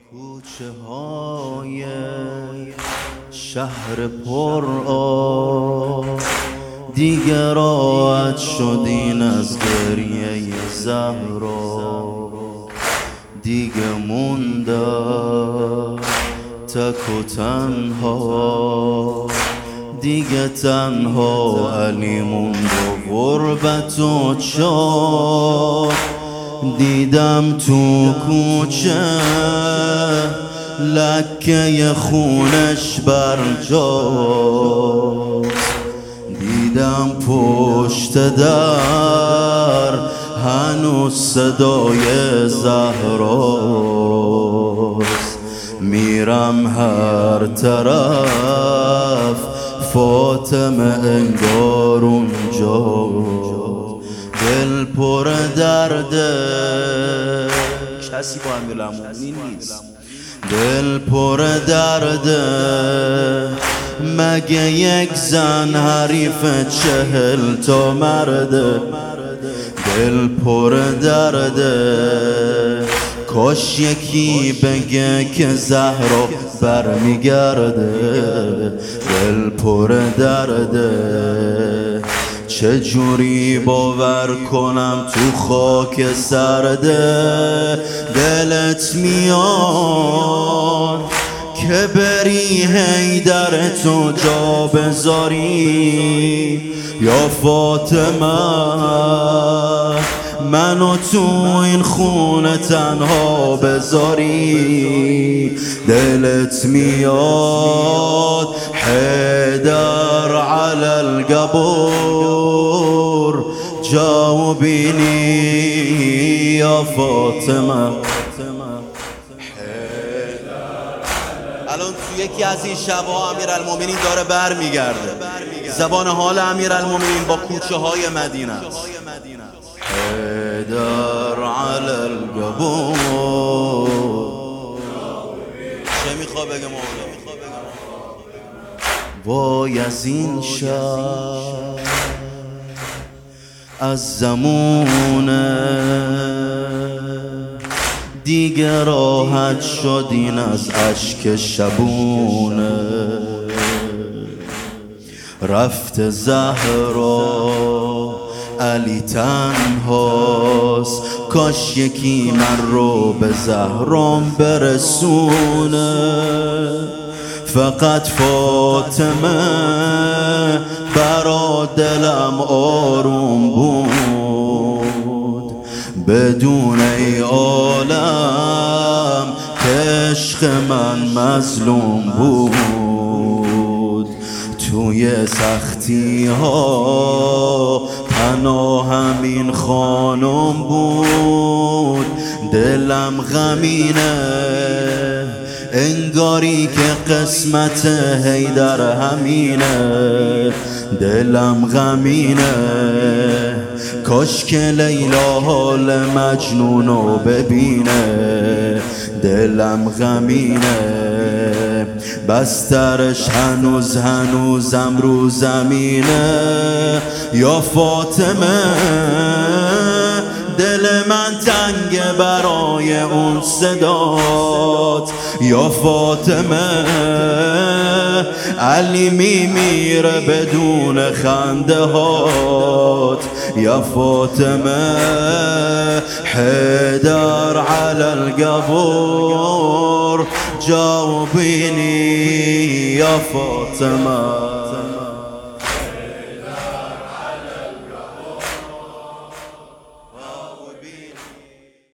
کوچه های شهر پر آب دیگه راحت شدین از گریه زهرا، دیگه مونده تک و تنها، دیگه تنها علی موند و غربت و چار. دیدم تو کوچه لکه خونش برجاست، دیدم پشت در هنوز صدای زهراست. میرم هر طرف فاطمه انگار اونجا، دل پر درده کسی با امیرالمومنین نیست، دل پر درده مگه یک زن حریف 40 تا مرده، دل پر درده کاش یکی بگه که زهرا برمیگرده، دل پر درده چجوری باور کنم تو خاک سرده. دلت میاد که بری حیدر تو جا بذاری یا فاطمه، منو تو این خونه تنها بذاری. دلت میاد حیدر علی القبور جا بینی یا فاطمه. الان تو یکی از این شبا امیرالمومنین داره برمیگرده، زبان حال امیرالمومنین با کوچه های مدینه است. حیدر علی القبور چه میخواه بگه مولا؟ وای از این شب از زمونه دیگه راحت شدین از اشک شبونه. رفت زهرا علی تنهاست، کاش یکی من رو به زهرام برسونه. فقط فاطمه برا دلم آروم بود، بدون ای عالم که عشق من مظلوم بود. توی سختی ها پناهم این خانم بود، دلم غمینه انگاری که قسمت حیدر همینه، دلم غمینه کاش که لیلا حال مجنونو ببینه، دلم غمینه بسترش هنوزم رو زمینه. یا فاطمه دل من تنگ برای اون صدات، یا فاطمه علی میمیره بدون خنده هات، یا فاطمه حیدر علی القبور جاوبینی یا فاطمه.